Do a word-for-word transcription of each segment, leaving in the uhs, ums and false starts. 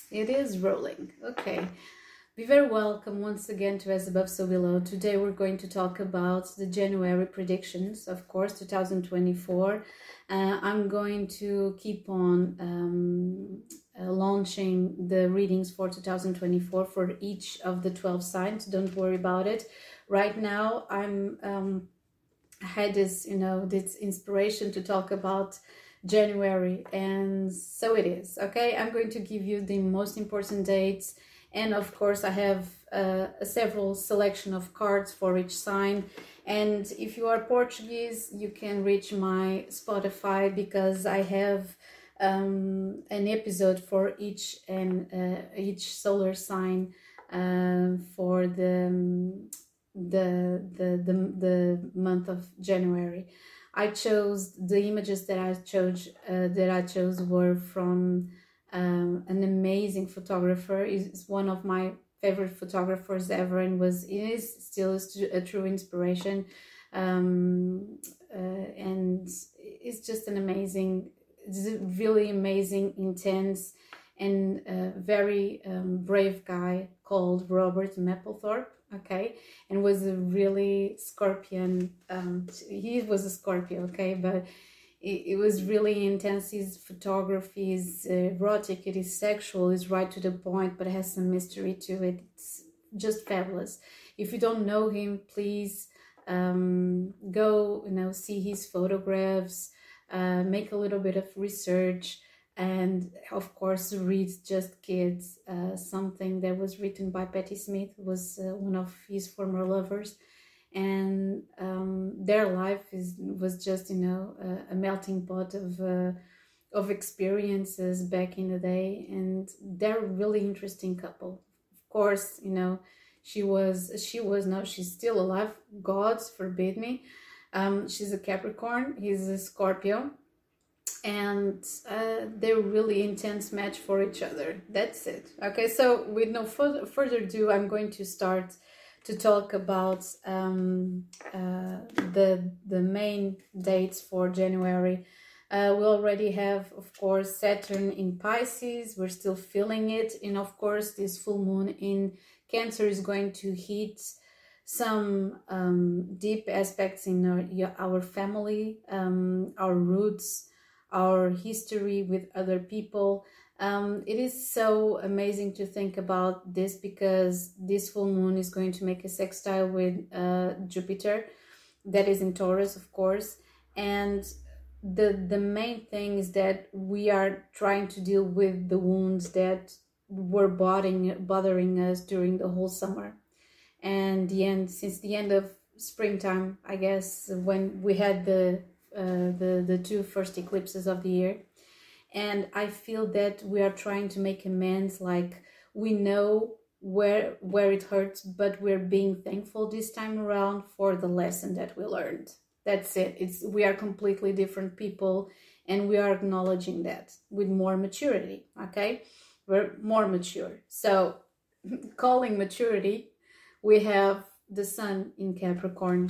It is rolling. Okay. Be very welcome once again to As Above, So Below. Today we're going to talk about the January predictions, of course, two thousand twenty-four. Uh, I'm going to keep on um, uh, launching the readings for two thousand twenty-four for each of the twelve signs. Don't worry about it. Right now, I'm um, I had this, you know, this inspiration to talk about January, and so it is. Okay, I'm going to give you the most important dates, and of course I have uh, a several selection of cards for each sign. And if you are Portuguese, you can reach my Spotify, because I have um, an episode for each and uh, each solar sign uh, for the um, the, the the the month of January. I chose the images that I chose uh, that I chose were from um, an amazing photographer. Is one of my favorite photographers ever, and was it is still a true inspiration. Um, uh, and it's just an amazing, it's a really amazing, intense, and uh, very um, brave guy called Robert Mapplethorpe. Okay, and was a really Scorpion. Um, he was a Scorpio. Okay, but it, it was really intense. His photography is uh, erotic. It is sexual. It's right to the point, but it has some mystery to it. It's just fabulous. If you don't know him, please um, go. You know, see his photographs. Uh, make a little bit of research. And of course, read Just Kids, uh, something that was written by Patti Smith, was uh, one of his former lovers, and um, their life is was just, you know, a, a melting pot of uh, of experiences back in the day, and they're a really interesting couple. Of course, you know, she was she was no, she's still alive. Gods forbid me. Um, she's a Capricorn. He's a Scorpio, and uh, they're really intense match for each other. That's it. Okay, so with no further, further ado, I'm going to start to talk about um, uh, the the main dates for January. Uh, we already have, of course, Saturn in Pisces. We're still feeling it, and of course, this full moon in Cancer is going to hit some um, deep aspects in our, our family, um, our roots, our history with other people. Um, it is so amazing to think about this, because this full moon is going to make a sextile with uh, Jupiter, that is in Taurus, of course. And the the main thing is that we are trying to deal with the wounds that were bothering bothering us during the whole summer and the end since the end of springtime, I guess, when we had the uh, the the two first eclipses of the year. And I feel that we are trying to make amends. Like, we know where where it hurts, but we're being thankful this time around for the lesson that we learned. That's it. It's we are completely different people, and we are acknowledging that with more maturity. Okay, we're more mature. So, calling maturity, we have the sun in Capricorn.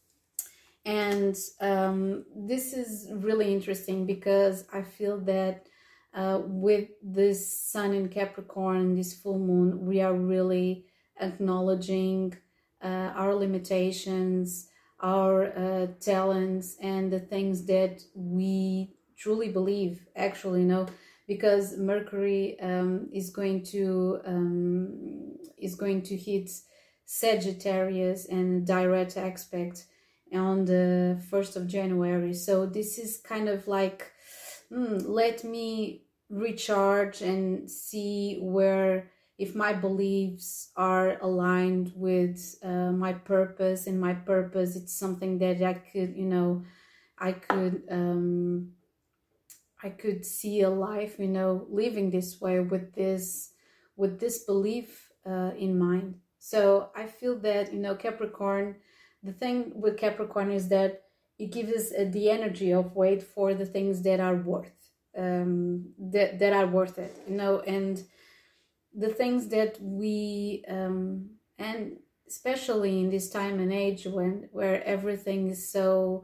And um, this is really interesting, because I feel that uh, with this sun in Capricorn, this full moon, we are really acknowledging uh, our limitations, our uh, talents, and the things that we truly believe, actually, you know, because Mercury um, is going to um, is going to hit Sagittarius and direct aspect on the first of January. So this is kind of like, mm, let me recharge and see where, if my beliefs are aligned with uh, my purpose, and my purpose, it's something that I could, you know, I could, um, I could see a life, you know, living this way with this, with this belief uh, in mind. So I feel that, you know, Capricorn, the thing with Capricorn is that it gives us uh, the energy of wait for the things that are worth, um, that, that are worth it, you know, and the things that we, um, and especially in this time and age when, where everything is so,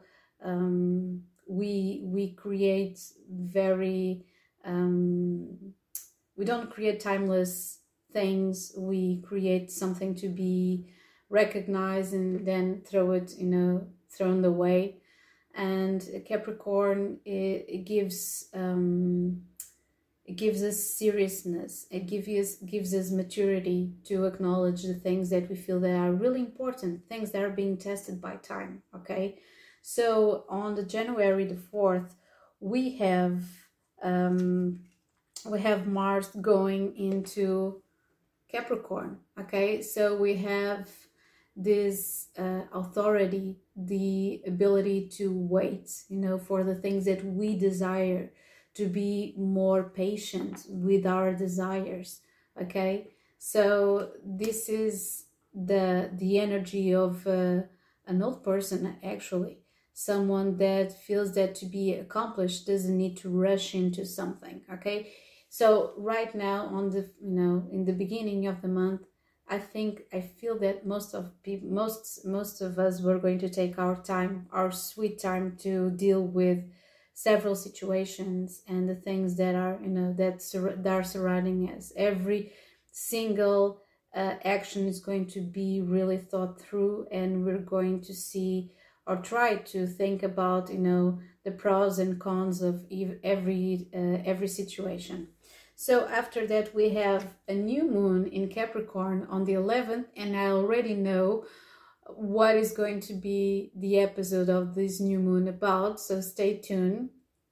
um, we, we create very, um, we don't create timeless things. We create something to be recognized and then throw it, you know, thrown away. And Capricorn, it, it gives um, it gives us seriousness. It gives us gives us maturity to acknowledge the things that we feel that are really important, things that are being tested by time. Okay, so on the January the fourth, we have um, we have Mars going into Capricorn. Okay, so we have this uh, authority, the ability to wait, you know, for the things that we desire, to be more patient with our desires. Okay, so this is the the energy of uh, an old person, actually, someone that feels that to be accomplished doesn't need to rush into something. Okay, so right now, on the, you know, in the beginning of the month, I think I feel that most of people, most most of us, were going to take our time, our sweet time, to deal with several situations and the things that are, you know, that, sur- that are surrounding us. Every single uh, action is going to be really thought through, and we're going to see or try to think about, you know, the pros and cons of ev- every uh, every situation. So after that, we have a new moon in Capricorn on the eleventh, and I already know what is going to be the episode of this new moon about, so stay tuned.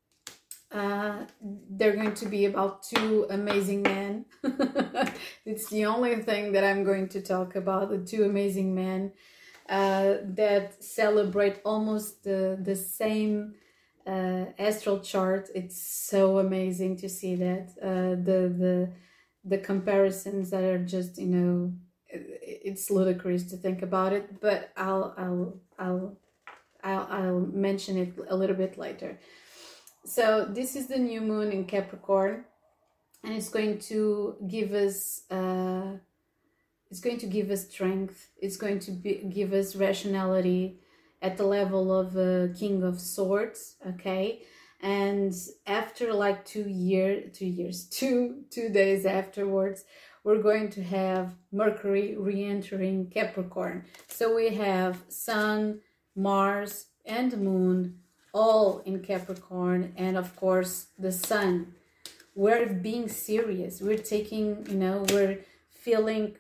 Uh, they're going to be about two amazing men. It's the only thing that I'm going to talk about, the two amazing men uh, that celebrate almost the, the same uh, astral chart. It's so amazing to see that. Uh, the, the, the comparisons that are just, you know, it's ludicrous to think about it, but I'll I'll I'll I'll, I'll mention it a little bit later. So this is the new moon in Capricorn, and it's going to give us uh, it's going to give us strength. It's going to be, give us rationality at the level of a uh, King of Swords. Okay, and after like two year two years two two days afterwards, we're going to have Mercury re-entering Capricorn. So we have Sun, Mars, and Moon all in Capricorn, and of course the Sun. We're being serious. We're taking, you know, we're feeling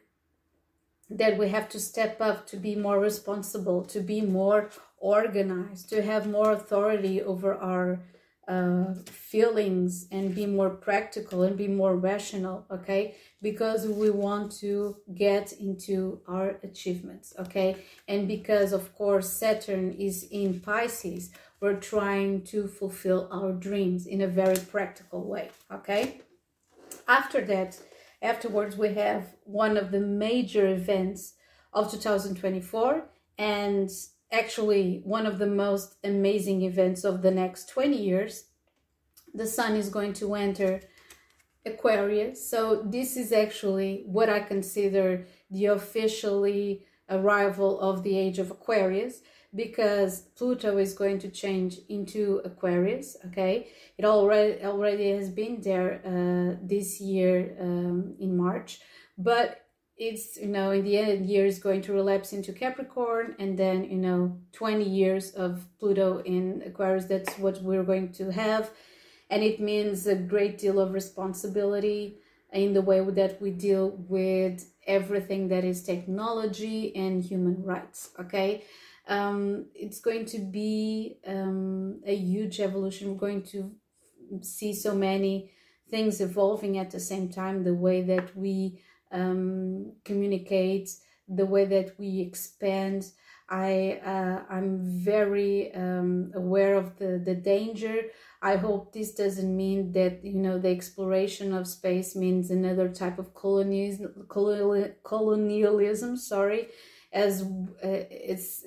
that we have to step up to be more responsible, to be more organized, to have more authority over our uh, feelings, and be more practical and be more rational, okay? Because we want to get into our achievements, okay? And because, of course, Saturn is in Pisces, we're trying to fulfill our dreams in a very practical way, okay? After that, afterwards, we have one of the major events of two thousand twenty-four, and actually one of the most amazing events of the next twenty years. The Sun is going to enter Aquarius. So this is actually what I consider the officially arrival of the age of Aquarius, because Pluto is going to change into Aquarius. Okay, it already already has been there uh, this year um, in March, but it's, you know, in the end of the year is going to relapse into Capricorn, and then, you know, twenty years of Pluto in Aquarius. That's what we're going to have, and it means a great deal of responsibility in the way that we deal with everything that is technology and human rights. Okay. Um, it's going to be um, a huge evolution. We're going to see so many things evolving at the same time. The way that we um, communicate, the way that we expand. I uh, I'm very um, aware of the the danger. I hope this doesn't mean that, you know, the exploration of space means another type of colonialism. Colonialism, sorry, as uh, it's.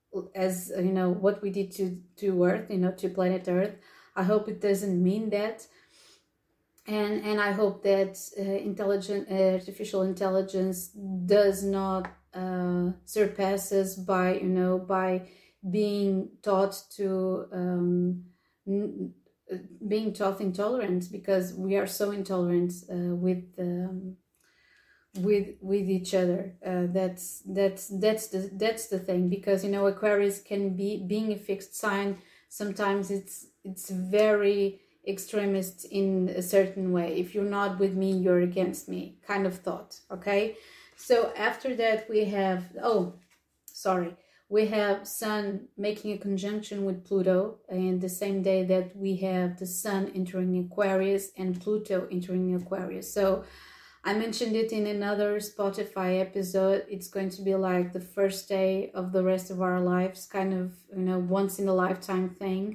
as you know, what we did to to Earth, you know, to planet Earth. I hope it doesn't mean that, and and I hope that uh, intelligent uh, artificial intelligence does not uh, surpass us by, you know, by being taught to um, n- being taught intolerance, because we are so intolerant uh, with um, with with each other. Uh, that's that's that's the that's the thing, because you know Aquarius can be, being a fixed sign, sometimes it's it's very extremist in a certain way. If you're not with me, you're against me kind of thought. Okay, so after that we have, oh sorry, we have Sun making a conjunction with Pluto, and the same day that we have the Sun entering Aquarius and Pluto entering Aquarius. So I mentioned it in another Spotify episode. It's going to be like the first day of the rest of our lives, kind of, you know, once in a lifetime thing.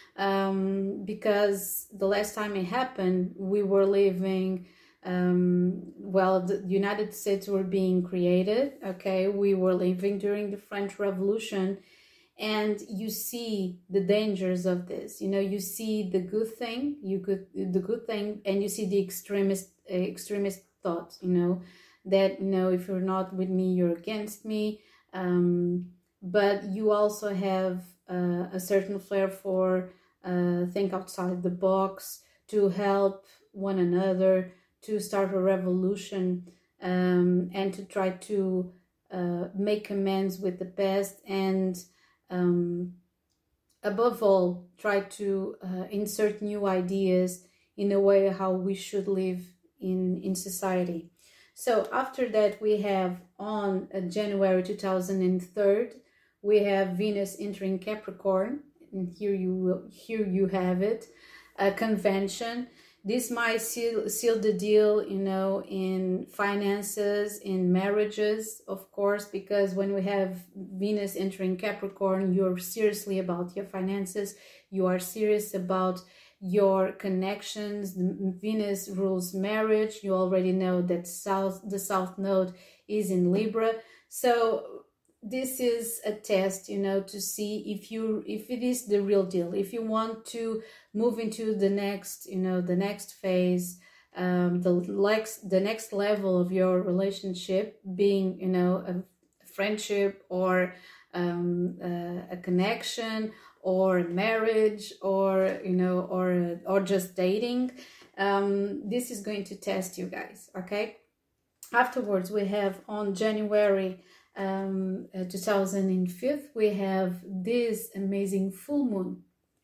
Um, because the last time it happened, we were living, um, well, the United States were being created, okay? We were living during the French Revolution, and you see the dangers of this. You know, you see the good thing, you could, the good thing, and you see the extremist, uh, extremist thoughts, you know, that, you know, if you're not with me, you're against me. Um, but you also have uh, a certain flair for uh, think outside the box, to help one another, to start a revolution, um, and to try to uh, make amends with the past, and um, above all, try to uh, insert new ideas in a way how we should live in in society. So after that, we have on uh, January two thousand three, we have Venus entering Capricorn, and here you will here you have it, a convention. This might seal seal the deal, you know, in finances, in marriages, of course, because when we have Venus entering Capricorn, you're seriously about your finances, you are serious about your connections. Venus rules marriage. You already know that south the south node is in Libra, so this is a test, you know, to see if you if it is the real deal, if you want to move into the next, you know, the next phase, um the next the next level of your relationship, being, you know, a friendship, or um uh, a connection, or marriage, or, you know, or or just dating. Um, this is going to test you guys, okay? Afterwards, we have on January um, uh, two thousand five, we have this amazing full moon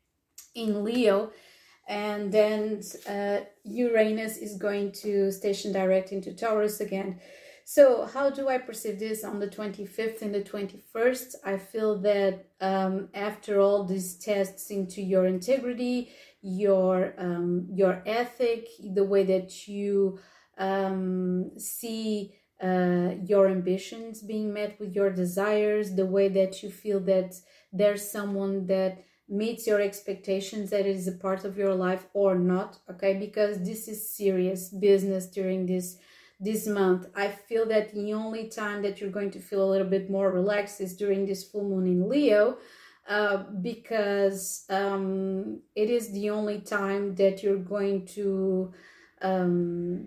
in Leo, and then uh, Uranus is going to station direct into Taurus again. So how do I perceive this on the twenty-fifth and the twenty-first? I feel that um, after all these tests into your integrity, your um, your ethic, the way that you um, see uh, your ambitions being met with your desires, the way that you feel that there's someone that meets your expectations, that is a part of your life or not, okay? Because this is serious business during this this month. I feel that the only time that you're going to feel a little bit more relaxed is during this full moon in Leo, uh, because um, it is the only time that you're going to um,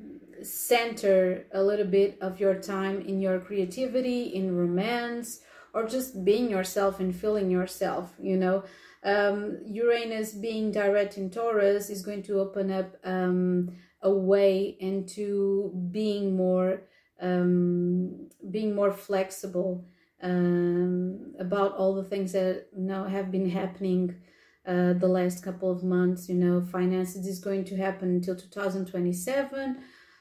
center a little bit of your time in your creativity, in romance, or just being yourself and feeling yourself, you know. Um, Uranus being direct in Taurus is going to open up um, a way into being more um, being more flexible um, about all the things that, you know, have been happening uh, the last couple of months. You know, finances is going to happen until two thousand twenty-seven.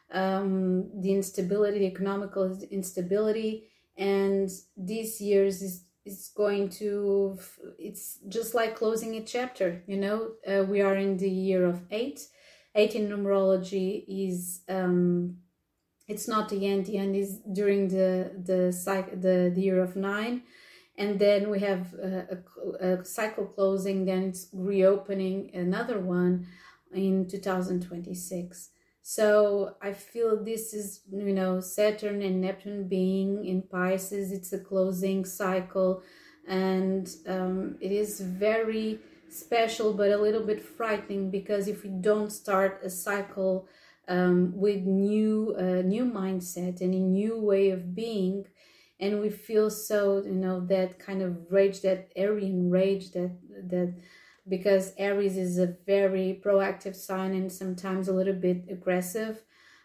Um, the instability, the economical instability, and this year's is is going to, it's just like closing a chapter, you know. Uh, we are in the year of eight. Eight in numerology is, um, it's not the end. The end is during the the cycle, the, the year of nine, and then we have a, a, a cycle closing. Then it's reopening another one in two thousand twenty-six. So I feel this is, you know, Saturn and Neptune being in Pisces. It's a closing cycle, and um, it is very special, but a little bit frightening, because if we don't start a cycle um, with new uh, new mindset and a new way of being, and we feel so, you know, that kind of rage, that Aryan rage, that that because Aries is a very proactive sign and sometimes a little bit aggressive.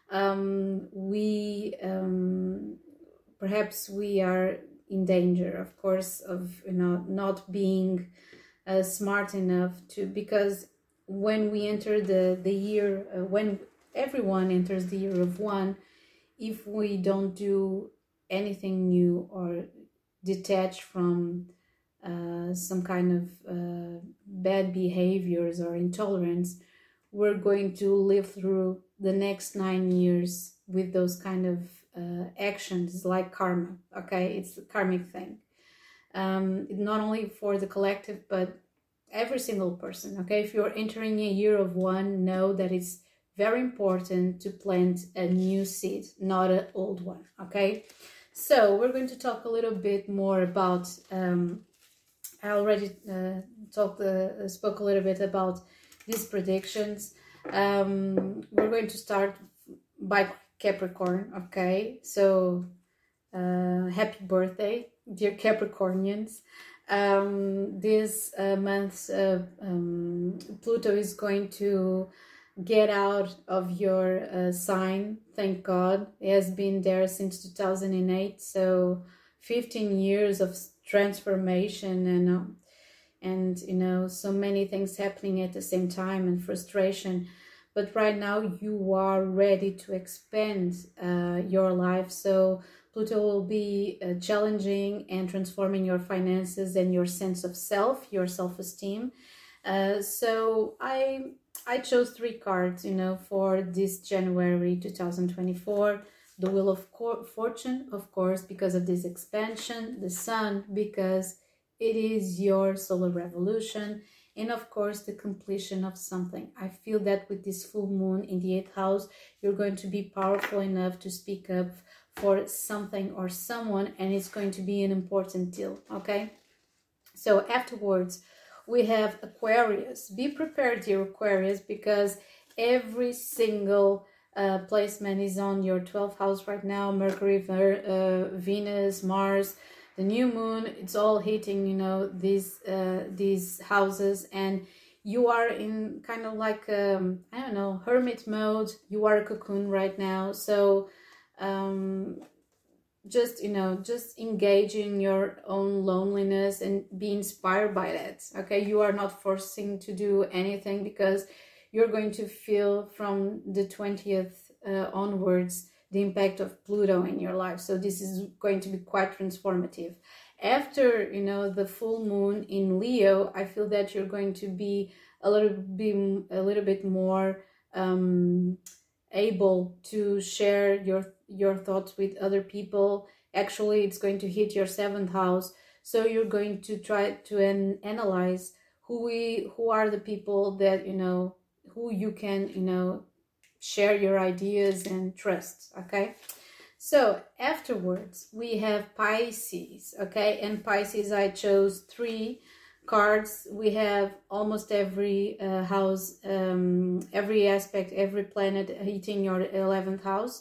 Um, we um, perhaps we are in danger, of course, of you know not being uh, smart enough to, because when we enter the the year, uh, when everyone enters the year of one, if we don't do anything new or detach from uh, some kind of uh, bad behaviors or intolerance, we're going to live through the next nine years with those kind of uh, actions like karma. Okay, it's a karmic thing. Um, not only for the collective, but every single person. Okay, if you're entering a year of one, know that it's very important to plant a new seed, not an old one. Okay, so we're going to talk a little bit more about. Um, I already uh, talked, uh, spoke a little bit about these predictions. Um, we're going to start by Capricorn. Okay, so uh, happy birthday, dear Capricornians. Um, this uh, month, uh, um, Pluto is going to get out of your uh, sign. Thank God. It has been there since two thousand eight, so fifteen years of transformation and uh, and you know so many things happening at the same time and frustration. But right now you are ready to expand uh, your life. So Pluto will be uh, challenging and transforming your finances and your sense of self, your self-esteem. Uh, so I I chose three cards, you know, for this January two thousand twenty-four. The Wheel of Fortune, of course, because of this expansion. The Sun, because it is your solar revolution. And of course, the completion of something. I feel that with this full moon in the eighth house, you're going to be powerful enough to speak up for something or someone, and it's going to be an important deal, okay? So afterwards, we have Aquarius. Be prepared, dear Aquarius, because every single uh, placement is on your twelfth house right now. Mercury, uh, Venus, Mars, the new moon, it's all hitting, you know, these uh, these houses, and you are in kind of like, um, I don't know, hermit mode. You are a cocoon right now. So um, just, you know, just engage in your own loneliness and be inspired by that. Okay, you are not forcing to do anything, because you're going to feel from the twentieth uh, onwards the impact of Pluto in your life. So this is going to be quite transformative. After, you know, the full moon in Leo, I feel that you're going to be a little bit, a little bit more um, able to share your your thoughts with other people. Actually, it's going to hit your seventh house, so you're going to try to an analyze who we who are the people that, you know, who you can, you know, share your ideas and trust. Okay, so afterwards we have Pisces. Okay, and Pisces, I chose three cards. We have almost every uh, house, um, every aspect, every planet hitting your eleventh house.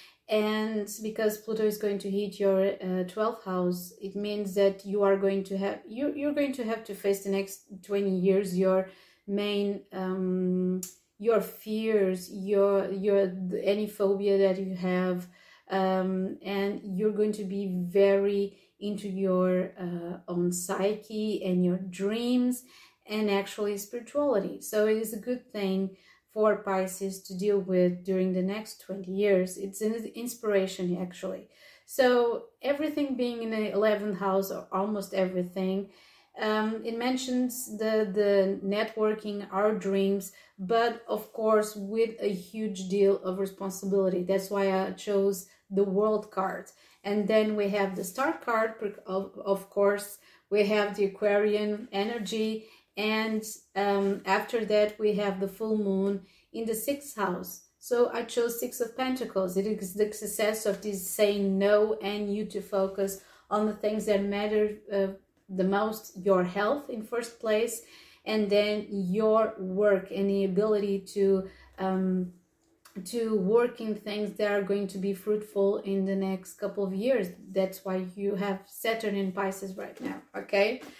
And because Pluto is going to hit your uh, twelfth house, it means that you are going to have you you're going to have to face the next twenty years your main um, your fears, your your any phobia that you have, um, and you're going to be very into your uh, own psyche and your dreams and actually spirituality. So it is a good thing for Pisces to deal with during the next twenty years. It's an inspiration, actually. So everything being in the eleventh house, or almost everything, um, it mentions the, the networking, our dreams, but of course with a huge deal of responsibility. That's why I chose the World card. And then we have the Star card, of, of course, we have the Aquarian energy, and um, after that we have the full moon in the sixth house. So I chose Six of Pentacles. It is the success of this saying no, and you to focus on the things that matter uh, the most, your health in first place, and then your work and the ability to um, to work in things that are going to be fruitful in the next couple of years. That's why you have Saturn in Pisces right now, okay?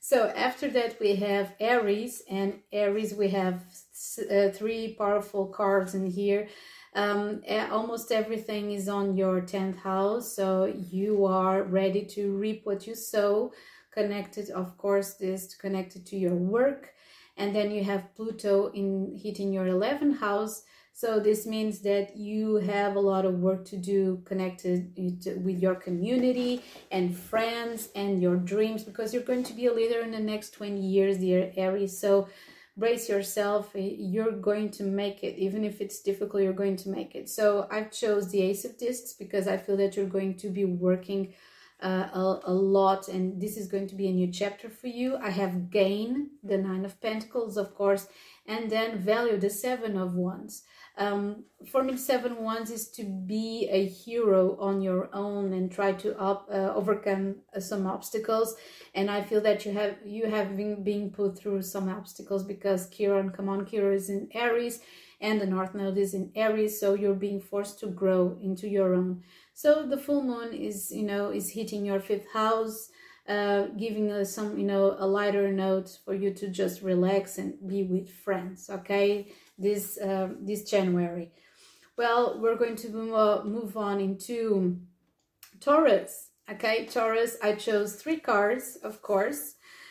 So after that we have Aries, and Aries we have uh, three powerful cards in here. Um, almost everything is on your tenth house, so you are ready to reap what you sow. Connected, of course, this connected to your work. And then you have Pluto in hitting your eleventh house. So this means that you have a lot of work to do connected with your community and friends and your dreams, because you're going to be a leader in the next twenty years, dear Aries. So brace yourself, you're going to make it. Even if it's difficult, you're going to make it. So I've chose the Ace of Discs because I feel that you're going to be working uh, a, a lot, and this is going to be a new chapter for you. I have Gain, the Nine of Pentacles, of course, and then Value, the Seven of Wands. Um, for me, Seven Wands is to be a hero on your own and try to up, uh, overcome uh, some obstacles. And I feel that you have you have been being put through some obstacles because Chiron, come on, Chiron is in Aries and the North Node is in Aries, so you're being forced to grow into your own. So the full moon is, you know, is hitting your fifth house, uh, giving us some, you know, a lighter note for you to just relax and be with friends, okay? This uh, this January. Well, we're going to move on into Taurus. Okay, Taurus, I chose three cards, of course,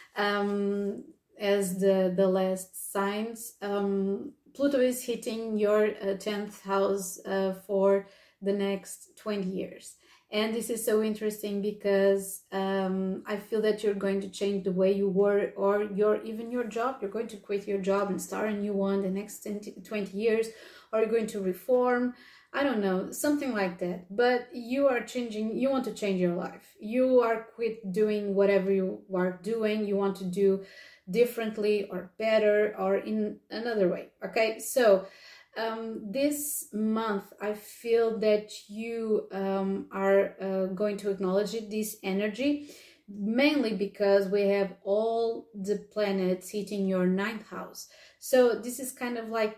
um, as the, the last signs. Um, Pluto is hitting your uh, tenth house uh, for the next twenty years. And this is so interesting because um, I feel that you're going to change the way you work, or your even your job. You're going to quit your job and start a new one the next twenty years, or you're going to reform. I don't know, something like that. But you are changing, you want to change your life. You are quit doing whatever you are doing. You want to do differently or better or in another way. Okay, so Um, this month, I feel that you um, are uh, going to acknowledge it, this energy, mainly because we have all the planets hitting your ninth house. So this is kind of like,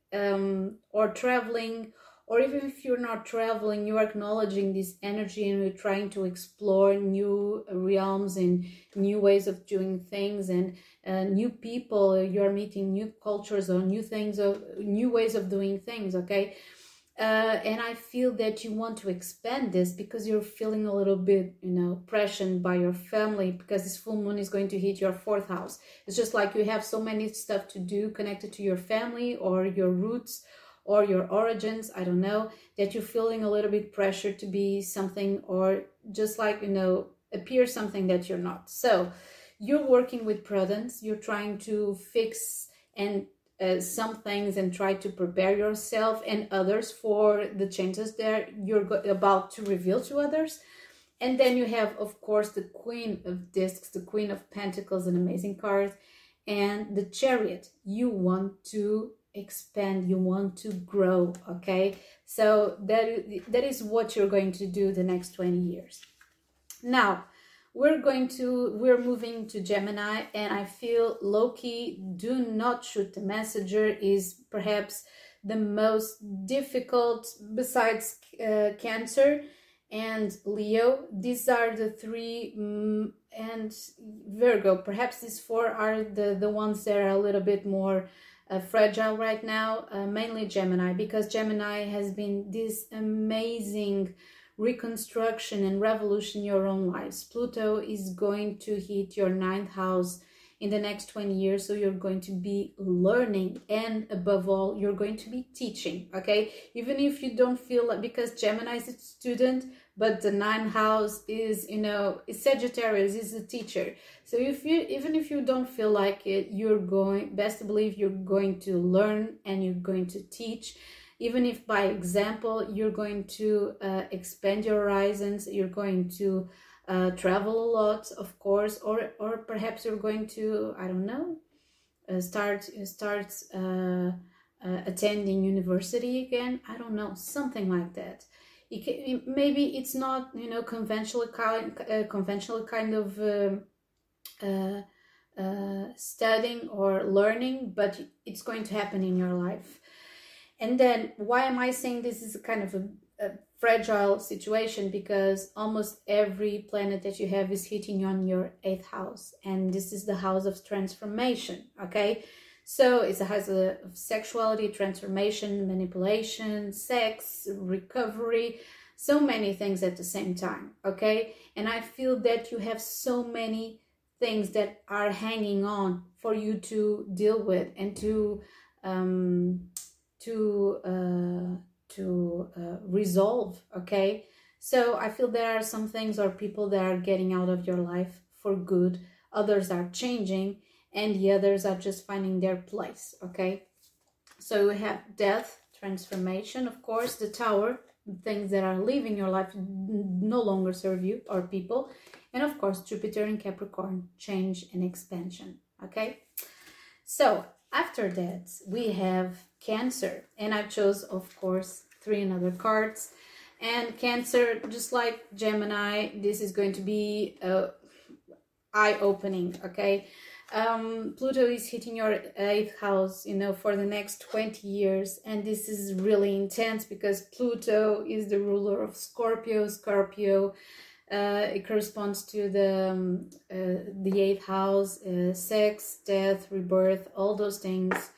um, or traveling, or even if you're not traveling, you're acknowledging this energy and you're trying to explore new realms and new ways of doing things and uh, new people. You're meeting new cultures or new things, of new ways of doing things, okay? Uh, and I feel that you want to expand this because you're feeling a little bit, you know, pressured by your family, because this full moon is going to hit your fourth house. It's just like you have so many stuff to do connected to your family or your roots or your origins, I don't know, that you're feeling a little bit pressured to be something, or just like, you know, appear something that you're not. So you're working with prudence, you're trying to fix and uh, some things and try to prepare yourself and others for the changes that you're about to reveal to others. And then you have, of course, the Queen of Discs, the Queen of Pentacles, an amazing card, and the Chariot. You want to expand, you want to grow, okay? So that that is what you're going to do the next twenty years. Now we're going to we're moving to Gemini, and I feel low-key, do not shoot the messenger is perhaps the most difficult besides uh, Cancer and Leo. These are the three, um, and Virgo, perhaps these four are the the ones that are a little bit more Uh, fragile right now, uh, mainly Gemini, because Gemini has been this amazing reconstruction and revolution in your own lives. Pluto is going to hit your ninth house in the next twenty years, so you're going to be learning, and above all, you're going to be teaching, okay? Even if you don't feel like, because Gemini is a student, but the ninth house is, you know, Sagittarius is a teacher. So if you, even if you don't feel like it, you're going, best to believe you're going to learn and you're going to teach. Even if by example, you're going to uh, expand your horizons, you're going to uh, travel a lot, of course, or or perhaps you're going to, I don't know, uh, start, start uh, uh, attending university again. I don't know, something like that. It can, maybe it's not, you know, conventional kind, uh, conventional kind of um, uh, uh, studying or learning, but it's going to happen in your life. And then why am I saying this is a kind of a, a fragile situation? Because almost every planet that you have is hitting on your eighth house, and this is the house of transformation. Okay, so it's a house of sexuality, transformation, manipulation, sex, recovery, so many things at the same time. Okay, and I feel that you have so many things that are hanging on for you to deal with and to um to uh to uh, resolve. Okay, so I feel there are some things or people that are getting out of your life for good, others are changing, and the others are just finding their place. Okay, so we have death, transformation, of course, the Tower, things that are leaving your life, no longer serve you or people, and of course Jupiter in Capricorn, change and expansion. Okay, so after that we have Cancer, and I chose, of course, three another cards. And Cancer, just like Gemini, this is going to be uh, eye-opening. Okay, um, Pluto is hitting your eighth house, you know, for the next twenty years, and this is really intense because Pluto is the ruler of Scorpio. Scorpio, uh, it corresponds to the um, uh, the eighth house, uh, sex, death, rebirth, all those things.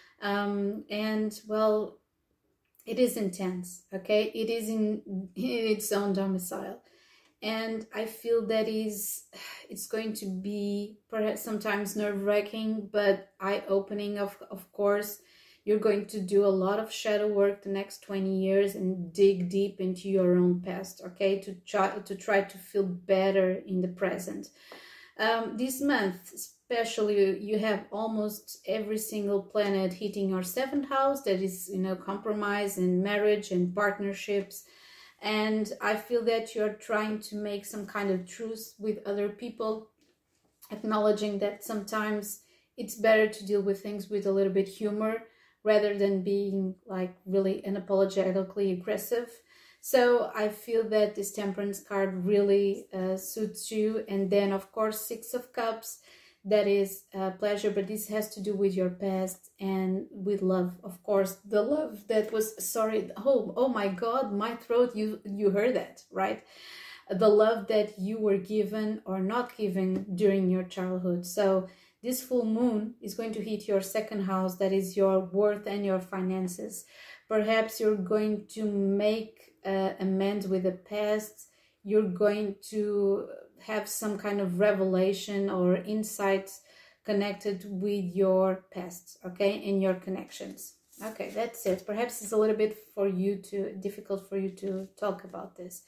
Um, and well, it is intense. Okay, it is in, in its own domicile, and I feel that is it's going to be perhaps sometimes nerve-wracking, but eye-opening. Of of course, you're going to do a lot of shadow work the next twenty years and dig deep into your own past. Okay, to try to try to feel better in the present. Um, this month, especially, you have almost every single planet hitting your seventh house. That is, you know, compromise and marriage and partnerships. And I feel that you're trying to make some kind of truce with other people, acknowledging that sometimes it's better to deal with things with a little bit humor rather than being like really unapologetically aggressive. So I feel that this Temperance card really uh, suits you. And then, of course, Six of Cups, that is uh, pleasure, but this has to do with your past and with love. Of course, the love that was, sorry, oh, oh my God, my throat, you, you heard that, right? The love that you were given or not given during your childhood. So this full moon is going to hit your second house, that is your worth and your finances. Perhaps you're going to make Uh, amends with the past. You're going to have some kind of revelation or insights connected with your past, okay, and your connections. Okay, that's it. Perhaps it's a little bit for you to difficult for you to talk about this,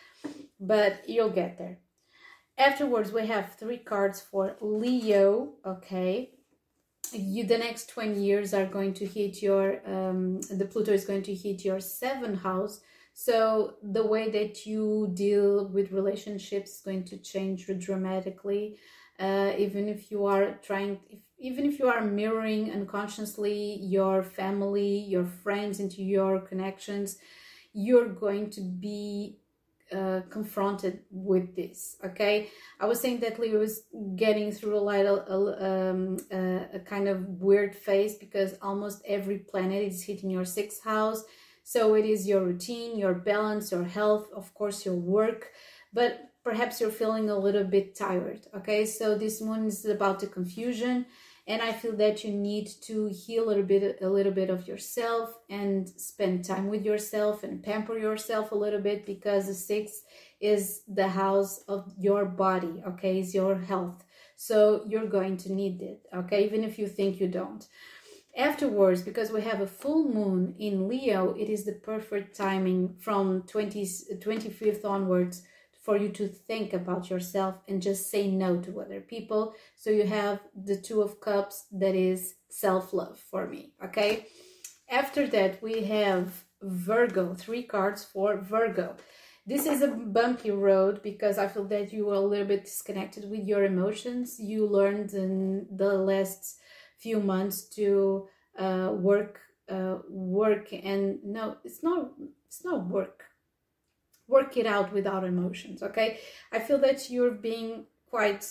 but you'll get there. Afterwards, we have three cards for Leo. Okay, you the next twenty years are going to hit your um the Pluto is going to hit your seventh house. So the way that you deal with relationships is going to change dramatically. Uh, even if you are trying, if, even if you are mirroring unconsciously your family, your friends into your connections, you're going to be uh, confronted with this. Okay, I was saying that Leo is getting through a little, um, uh, a kind of weird phase because almost every planet is hitting your sixth house. So it is your routine, your balance, your health, of course, your work, but perhaps you're feeling a little bit tired. Okay, so this moon is about the confusion, and I feel that you need to heal a little bit, a little bit of yourself and spend time with yourself and pamper yourself a little bit, because the sixth is the house of your body. Okay, is your health. So you're going to need it. Okay, even if you think you don't. Afterwards, because we have a full moon in Leo, it is the perfect timing from twenty-fifth onwards for you to think about yourself and just say no to other people. So you have the Two of Cups, that is self-love for me, okay? After that, we have Virgo, three cards for Virgo. This is a bumpy road because I feel that you are a little bit disconnected with your emotions. You learned in the last few months to uh, work, uh, work, and no, it's not, it's not work. Work it out without emotions, okay? I feel that you're being quite,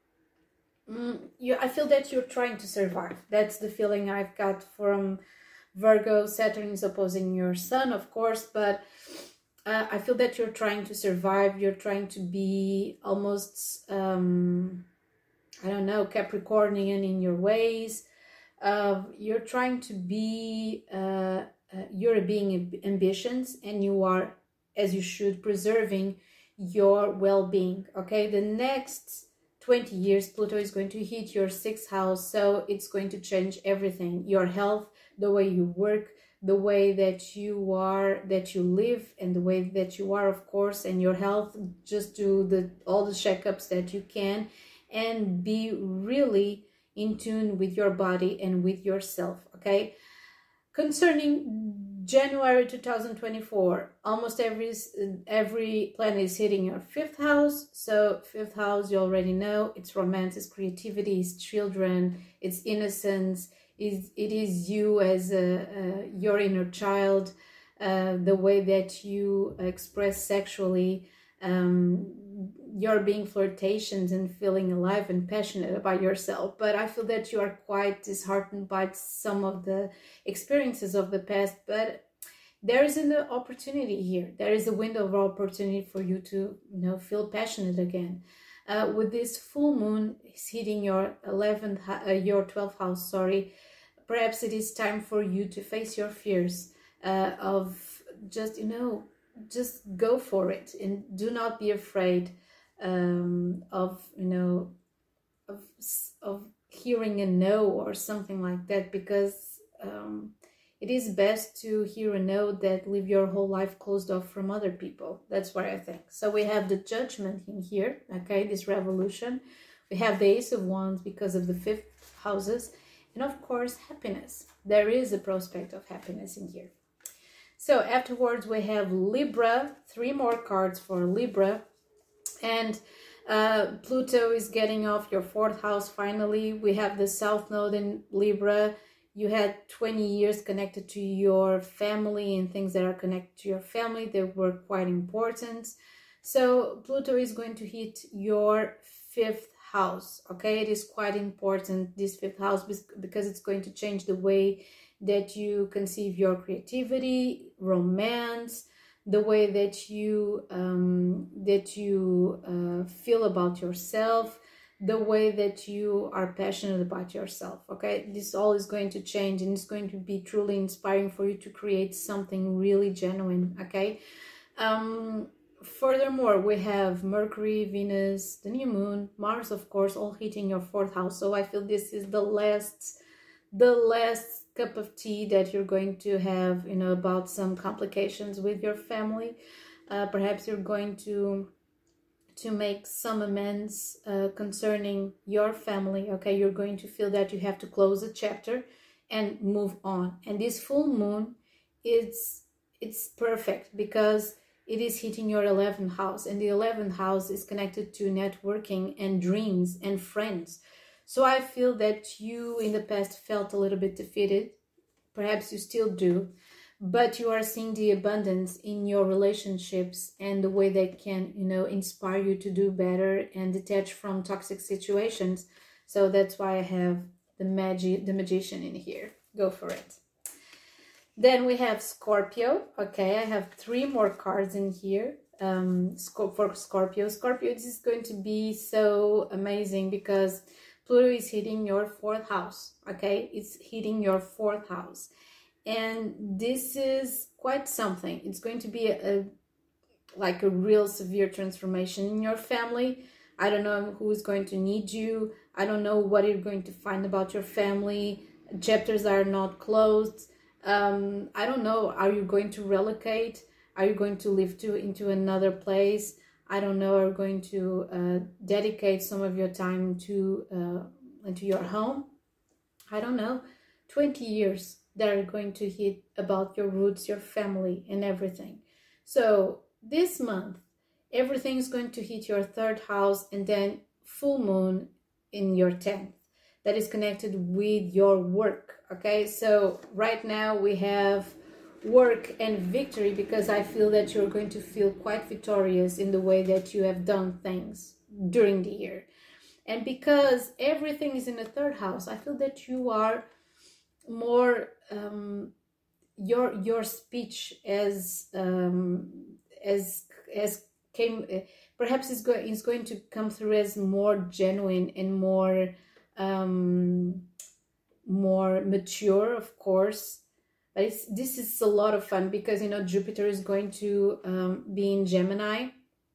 mm, you, I feel that you're trying to survive. That's the feeling I've got from Virgo, Saturn is opposing your sun, of course, but uh, I feel that you're trying to survive. You're trying to be almost, um, I don't know, Capricornian in your ways. Uh, you're trying to be, uh, uh, you're being ambitions, and you are, as you should, preserving your well-being. Okay, the next twenty years, Pluto is going to hit your sixth house, so it's going to change everything. Your health, the way you work, the way that you are, that you live, and the way that you are, of course, and your health. Just do the all the checkups that you can, and be really in tune with your body and with yourself. Okay, concerning January two thousand twenty-four, almost every every planet is hitting your fifth house. So fifth house, you already know, it's romance, it's creativity, it's children, it's innocence, is it is you as a, a your inner child, uh, the way that you express sexually, um, you're being flirtations and feeling alive and passionate about yourself. But I feel that you are quite disheartened by some of the experiences of the past, but there is an opportunity here. There is a window of opportunity for you to, you know, feel passionate again. Uh, with this full moon is hitting your eleventh, uh, your twelfth house, sorry, perhaps it is time for you to face your fears, uh, of just, you know, just go for it and do not be afraid um of you know of of hearing a no or something like that, because um it is best to hear a no that leave your whole life closed off from other people. That's what I think. So we have the Judgment in here, okay, this revolution. We have the Ace of Wands because of the fifth houses, and of course happiness. There is a prospect of happiness in here. So afterwards we have Libra, three more cards for Libra. And uh, Pluto is getting off your fourth house finally. We have the South Node in Libra. You had twenty years connected to your family and things that are connected to your family that were quite important. So Pluto is going to hit your fifth house, okay? It is quite important, this fifth house, because it's going to change the way that you conceive your creativity, romance, the way that you um, that you uh, feel about yourself, the way that you are passionate about yourself. Okay, this all is going to change, and it's going to be truly inspiring for you to create something really genuine. Okay. Um, furthermore, we have Mercury, Venus, the new moon, Mars, of course, all hitting your fourth house. So I feel this is the last, the last cup of tea that you're going to have, you know, about some complications with your family. Uh, perhaps you're going to to make some amends uh, concerning your family. Okay, you're going to feel that you have to close a chapter and move on. And this full moon, it's it's perfect because it is hitting your eleventh house, and the eleventh house is connected to networking and dreams and friends. So I feel that you in the past felt a little bit defeated. Perhaps you still do, but you are seeing the abundance in your relationships and the way they can, you know, inspire you to do better and detach from toxic situations. So that's why I have the magic, the magician in here. Go for it. Then we have Scorpio. Okay, I have three more cards in here. Um, for Scorpio. Scorpio, this is going to be so amazing because Pluto is hitting your fourth house, okay? It's hitting your fourth house. And this is quite something. It's going to be a, a like a real severe transformation in your family. I don't know who is going to need you. I don't know what you're going to find about your family. Chapters are not closed. Um, I don't know. Are you going to relocate? Are you going to live to into another place? I don't know, are going to uh, dedicate some of your time to uh, into your home? I don't know. twenty years that are going to hit about your roots, your family, and everything. So this month, everything is going to hit your third house, and then full moon in your tenth. That is connected with your work, okay? So right now we have work and victory, because I feel that you're going to feel quite victorious in the way that you have done things during the year. And because everything is in the third house, I feel that you are more um, your your speech as um, as as came uh, perhaps is going is going to come through as more genuine and more um, more mature, of course. But it's, this is a lot of fun because, you know, Jupiter is going to um, be in Gemini,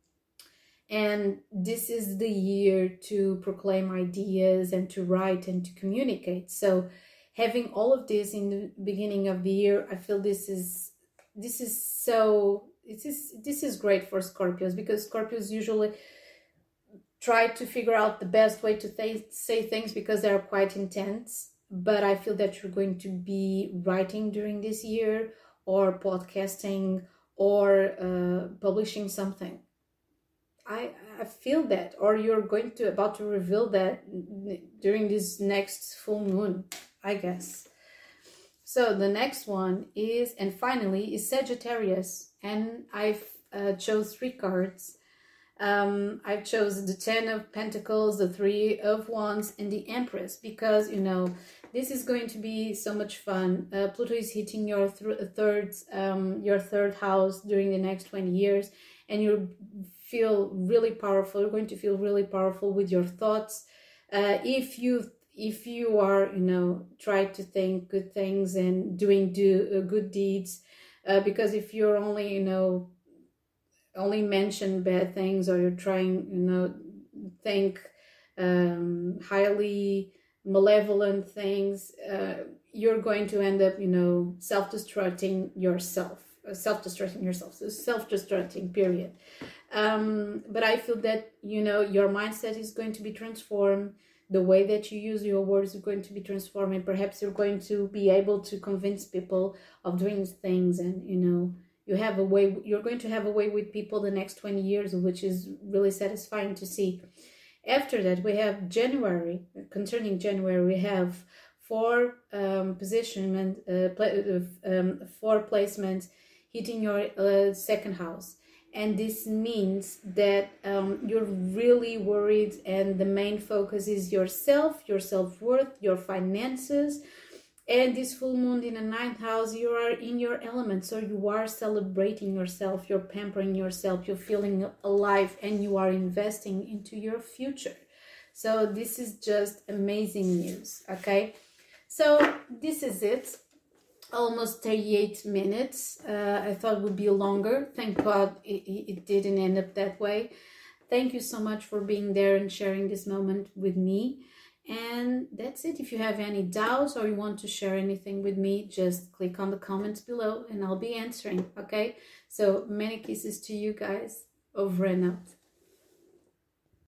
and this is the year to proclaim ideas and to write and to communicate. So having all of this in the beginning of the year, I feel this is this is so this is this is great for Scorpios, because Scorpios usually try to figure out the best way to th say things because they're quite intense. But I feel that you're going to be writing during this year, or podcasting, or uh, publishing something. I, I feel that, or you're going to about to reveal that during this next full moon, I guess. So the next one is, and finally, is Sagittarius, and I've uh, chose three cards. Um, I've chosen the Ten of Pentacles, the Three of Wands, and the Empress, because, you know, this is going to be so much fun. Uh, Pluto is hitting your th third, um, your third house during the next twenty years, and you feel really powerful. You're going to feel really powerful with your thoughts. Uh, if you if you are, you know, try to think good things and doing do uh, good deeds, uh, because if you're only, you know, only mention bad things, or you're trying, you know, think um, highly malevolent things, uh, you're going to end up, you know, self-destructing yourself, uh, self-destructing yourself, so self-destructing, period. Um, but I feel that, you know, your mindset is going to be transformed. The way that you use your words is going to be transformed, and perhaps you're going to be able to convince people of doing things, and, you know, you have a way, you're going to have a way with people the next twenty years, which is really satisfying to see. After that, we have January. Concerning January, we have four um, position and uh, um, four placements hitting your uh, second house. And this means that um, you're really worried, and the main focus is yourself, your self-worth, your finances. And this full moon in the ninth house, you are in your element, so you are celebrating yourself, you're pampering yourself, you're feeling alive, and you are investing into your future. So this is just amazing news, okay? So this is it. Almost thirty-eight minutes. Uh, I thought it would be longer. Thank God it, it didn't end up that way. Thank you so much for being there and sharing this moment with me. And that's it. If you have any doubts or you want to share anything with me, just click on the comments below and I'll be answering, okay? So many kisses to you guys. Over and out.